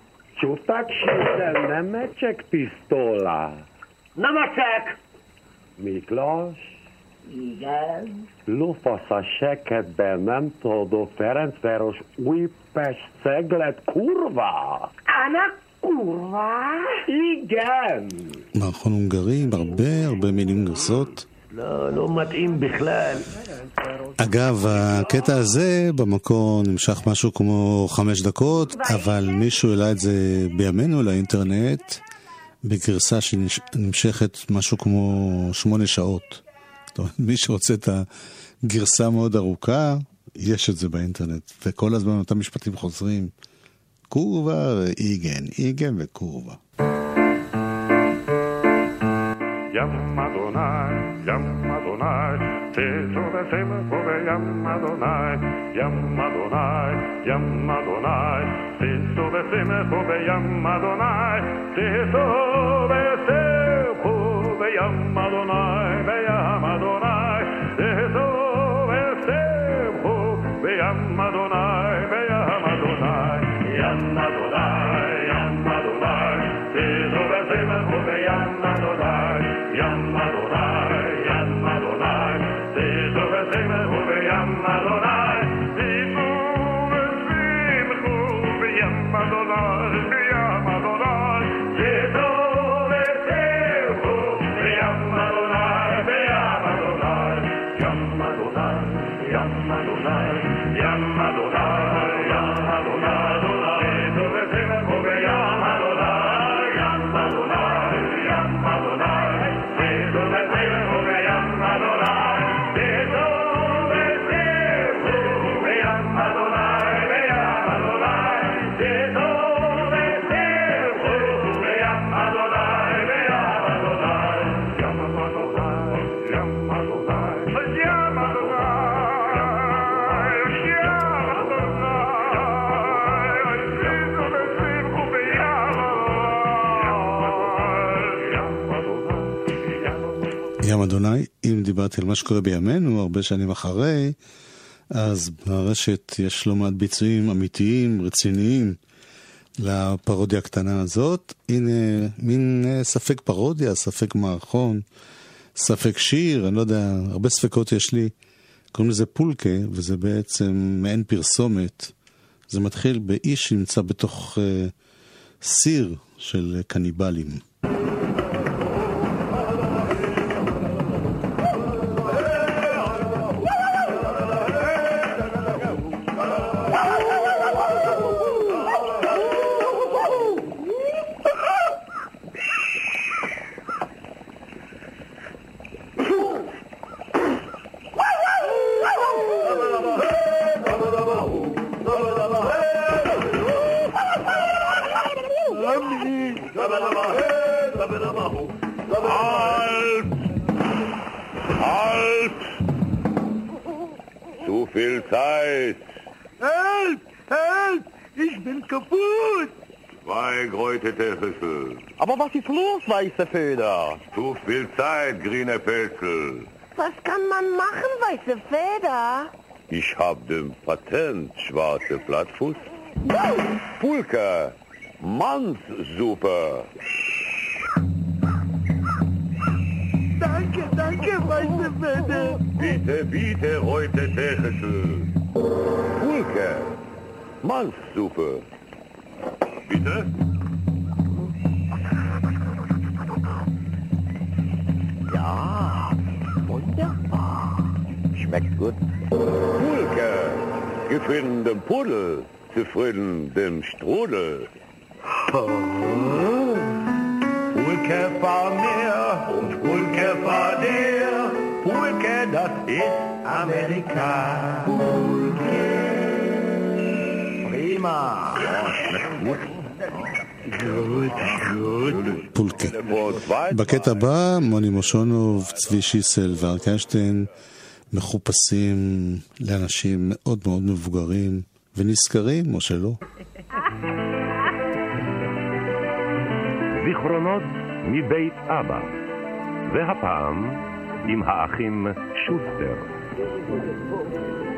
Чутак ще не мечек пистола. Намачек! Miklós? Igen? Lufasz a sekedben, nem tudod, Ferencváros, Újpest, Ceglet, kurva! Ana kurva? Igen! מערכון הונגרי, הרבה מילים גסות. לא מתאים בכלל. אגב, הקטע הזה במקור נמשך משהו כמו 5 דקות, אבל מישהו העלה את זה בימינו לאינטרנט בגרסה שנמשכת משהו כמו 8 שעות. זאת אומרת, מי שרוצה את הגרסה מאוד ארוכה, יש את זה באינטרנט, וכל הזמן אותם משפטים חוזרים, קורבה ואיגן, איגן וקורבה. Yam Adonai, Yam Adonai, Tezo v'sema pove Yam Adonai, Yam Adonai, Yam Adonai, Tezo v'sema pove Yam Adonai, Tezo v'sema pove Yam Adonai, Yam Adonai, Tezo v'sema pove Yam Adonai, Yam Adonai, Yam Adonai, Yam Adonai, Tezo v'sema pove Yam Adonai. Yam Adonai, Yam Adonai, Tezo v'sema pove Yam Adonai, Tezo v'sema pove Yam Adonai, Yam Adonai, Tezo v'sema pove Yam Adonai, Yam Adonai, Yam Adonai, Yam Adonai, Yam Adonai, Yam Adonai, Tezo v'sema pove Yam Adonai, Yam Adonai, Yam Adonai. ים אדוני, אם דיברתי על מה שקורה בימינו, הרבה שנים אחרי, אז ברשת יש לא מעט ביצועים אמיתיים, רציניים, לפרודיה הקטנה הזאת. הנה, מין ספק פרודיה, ספק מערכון, ספק שיר, אני לא יודע, הרבה ספקות יש לי. קוראים לזה פולקה, וזה בעצם מעין פרסומת. זה מתחיל באיש שנמצא בתוך סיר של קניבלים. Zu viel Zeit. Help! Help! Ich bin kaputt! 2 geräutete Rüssel. Aber was ist los, weiße Feder? Zu viel Zeit, grüne Pelzel. Was kann man machen, weiße Feder? Ich hab den Patent, schwarze Plattfuß. Pulka, Mannssuppe. Danke, danke, weiße Feder. Bitte, bitte, geräutete Rüssel. Pulka, Mannssuppe. Bitte? Ja, wunderbar. Schmeckt gut. Pulka, gefunden dem Pudel, zufrieden dem Strudel. Pulke vor mir und Pulke vor dir. Pulke, das ist Amerika. Pulke. Prima. פולקה. בקטע הבא, מוני מושונוב, צבי שיסל ואריק איינשטיין מחופשים לאנשים מאוד מאוד מבוגרים ונזכרים, או שלא. זיכרונות מבית אבא, והפעם עם האחים שוסטר.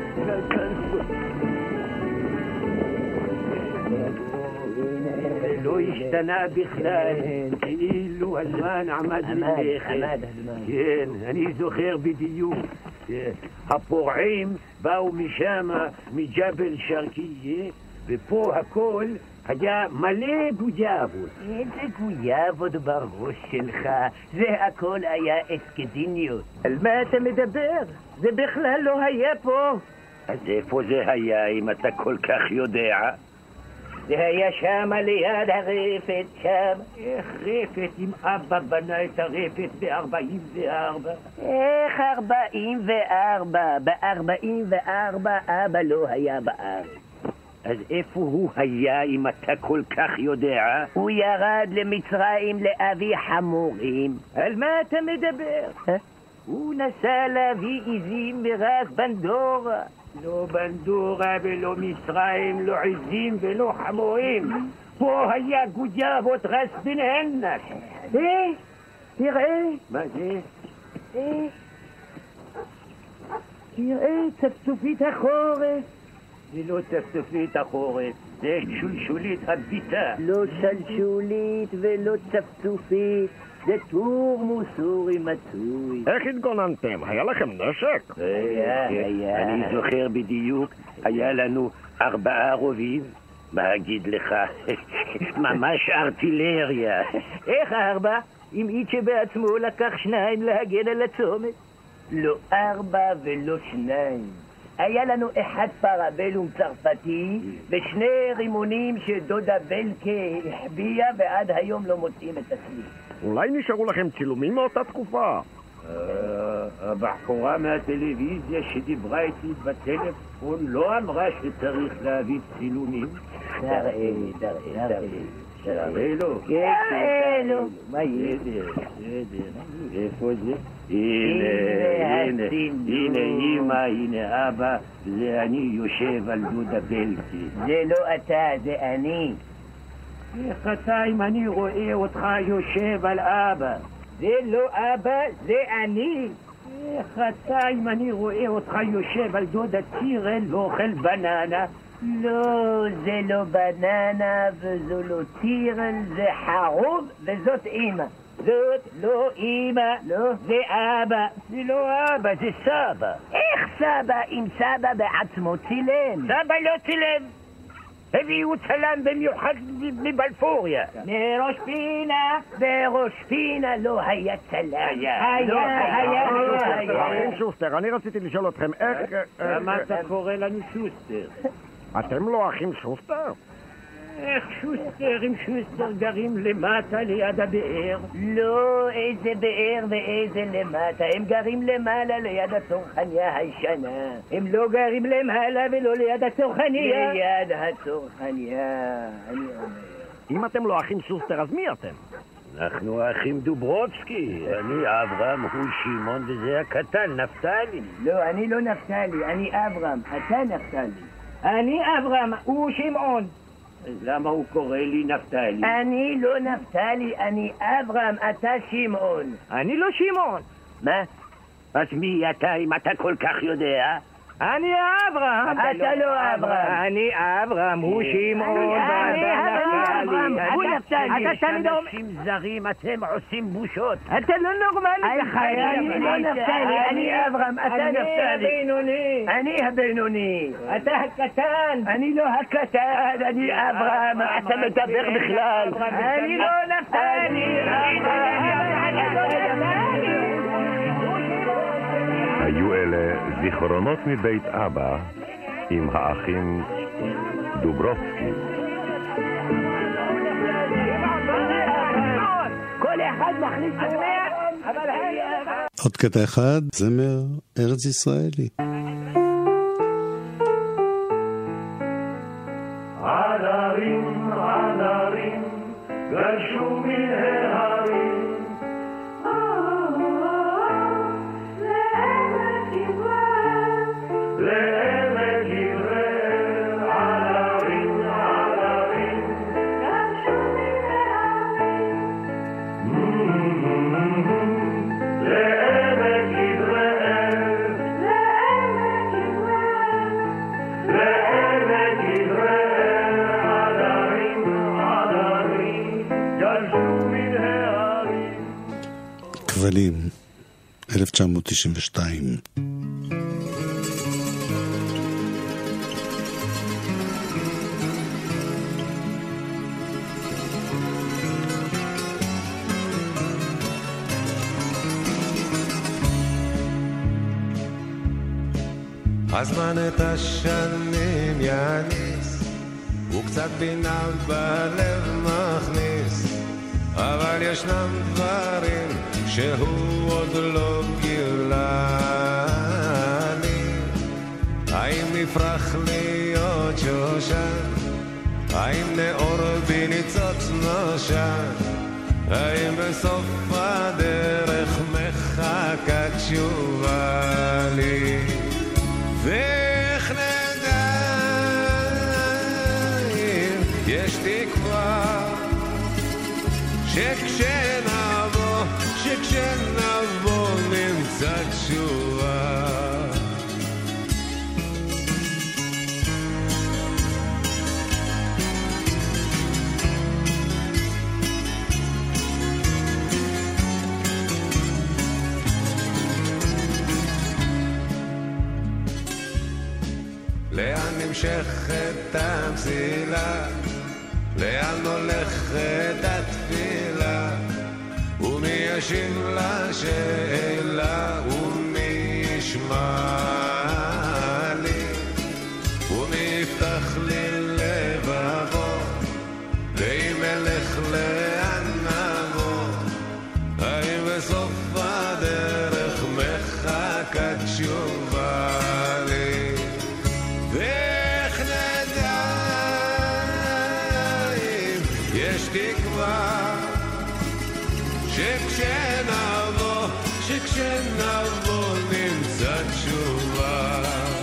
לא לא השתנה בכלל, כאילו הזמן עמד מלכת. כן, אני זוכר בדיוק. הפורעים באו משם, מג'בל שרקייה, ופה הכל היה מלא גויאבות. איזה גויאבות בראש שלך? זה הכל היה אסקדיניות. על מה אתה מדבר? זה בכלל לא היה פה. אז איפה זה היה, אם אתה כל כך יודע? זה היה שם ליד הרפת, שם. איך רפת אם אבא בנה את הרפת ב-44? איך 44? ב-44 אבא לא היה בארץ. אז איפה הוא היה אם אתה כל כך יודע? הוא ירד למצרים להביא חמורים. על מה אתה מדבר? הוא נסע להביא עזים מרס בנדורה. לא בנדורה ולא מצרים, לא עזים ולא חמורים. פה היה גויאבות רס בן ענק. תראה. מה זה? תראה, צפצופית החורף. זה לא צפצופית החורף, זה שולשולית הביטה. לא שלשולית ולא צפצופית, זה תורמוס אורי מצוי. איך התגוננתם? היה לכם נשק? היה. אני זוכר בדיוק, היה לנו 4 רובים. מה אגיד לך? ממש ארטילריה. איך 4? אם איצ'ה בעצמו לקח 2 להגן על הצומת. לא 4 ולא 2. היה לנו 1 פרבלום צרפתי ו2 רימונים שדודה בלקה החביאה ועד היום לא מוצאים את הסליק. אולי נשארו לכם צילומים מאותה תקופה? הבחורה מהטלוויזיה שדיברה איתי בטלפון לא אמרה שצריך להביא צילומים. תראה לו. תראה לו. מה ידע? איפה זה? הנה אמא, הנה אבא, זה אני יושב על דודה בלקי. זה לא אתה, זה אני. איך אתה אם אני רואה אותך יושב על אבא? זה לא אבא, זה אני. איך אתה אם אני רואה אותך יושב על דודה צירל ואוכל בננה? לא, זה לא בננה וזו לא צירל, זה חרוב וזאת אמא. זאת לא אמא, לא, זה אבא. זה לא אבא, זה סבא. איך סבא אם סבא בעצמו צילם? סבא לא צילם. הביאו צלם במיוחד מבלפוריה. בראש פינה לא היה צלם. היה. אחים שוסטר, אני רציתי לשאול אתכם איך... למה אתה קורא לנו שוסטר? אתם לא אחים שוסטר? איך שוסטר עם שוסטר גרים למטה ליד הבאר? לא, איזה באר ואיזה למטה. הם גרים למעלה ליד הצרכניה הישנה. הם לא גרים למעלה ולא ליד הצרכניה. ליד הצרכניה, אני אומר. אם אתם לא אחים שוסטר, אז מי אתם? אנחנו האחים דוברובסקי. אני אברהם, הוא שמעון וזה הקטן, נפתלי. לא, אני לא נפתלי, אני אברהם. אתה נפתלי. אני אברהם, הוא שמעון. אז למה הוא קורא לי נפתלי? אני לא נפתלי, אני אברהם, אתה שמעון. אני לא שמעון. מה? אז מי אתה אם אתה כל כך יודע? אני אברהם. אתה לא אברהם. אני אברהם, הוא שמעון. אני אברהם, הוא נפתלי. אתה תמיד אומר... אנשים זרים, אתם עושים בושות. אתה לא נורמלי. אני לא נפתלי, אני אברהם, אתה נפתלי. אני הבינוני. אני הבינוני. אתה הקטן. אני לא הקטן, אני אברהם. אתה מדבר בכלל. אני לא נפתלי. היו אלה זיכרונות מבית אבא עם האחים דוברובסקי. כל אחד מחליט אבל עוד קטע אחד, זמר ארץ ישראלי. עדרים, עדרים, גלשו מן ההרים לעמק יזרעאל, עדרים, עדרים, גלשו מן ההרים לעמק יזרעאל, לעמק יזרעאל, עדרים, עדרים כבלים, 1992. הזמן את השנים יניס, וקצת בינה בלב מכניס, אבל ישנם דברים שהוא עוד לא גילה לי. האם נפרח להיות שושן? האם נאור בניצוץ נושן? האם בסוף הדרך מחכה תשובה לי? ואיך נדע אם יש תקווה שכשנבוא נמצא תשובה. לאן נמשכת המסילה? לאן הולכת התפילה? ומי ישיב לשאלה? ומי ישמע לי? ומי יפתח לי לבבו? ואם אלך לאן נבוא? האם בסוף הדרך מחכה תשובה לי? ואיך נדע אם יש תקווה שכשנבוא נמצא תשובה.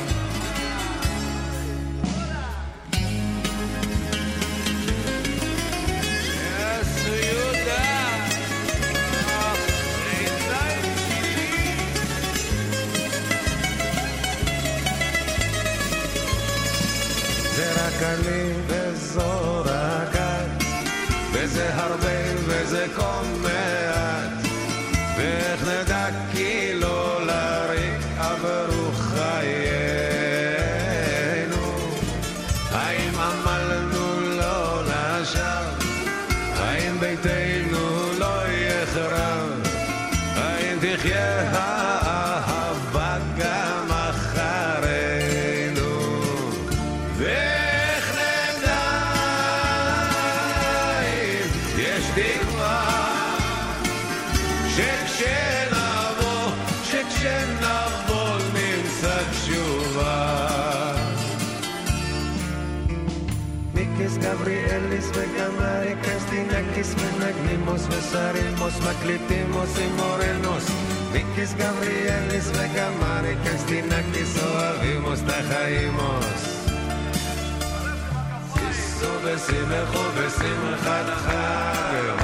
קלים וזו רגעת, וזה הרבה וזה כה מעט, ואיך נדע כי לא לריק עברו חיינו? האם עמלנו לא לשווא? האם ביתנו לא יחרב? האם תחיה האהבה גם אחרינו? שכשנבוא נמצא תשובה. מיקיס גבריאליס וגם אריקס דינקיס מנגנימוס וסרימוס מקליטימוס אימורנוס. מיקיס גבריאליס וגם אריקס דינקיס אוהבימוס תחיימוס. סיסו ושמחו בשמחת חג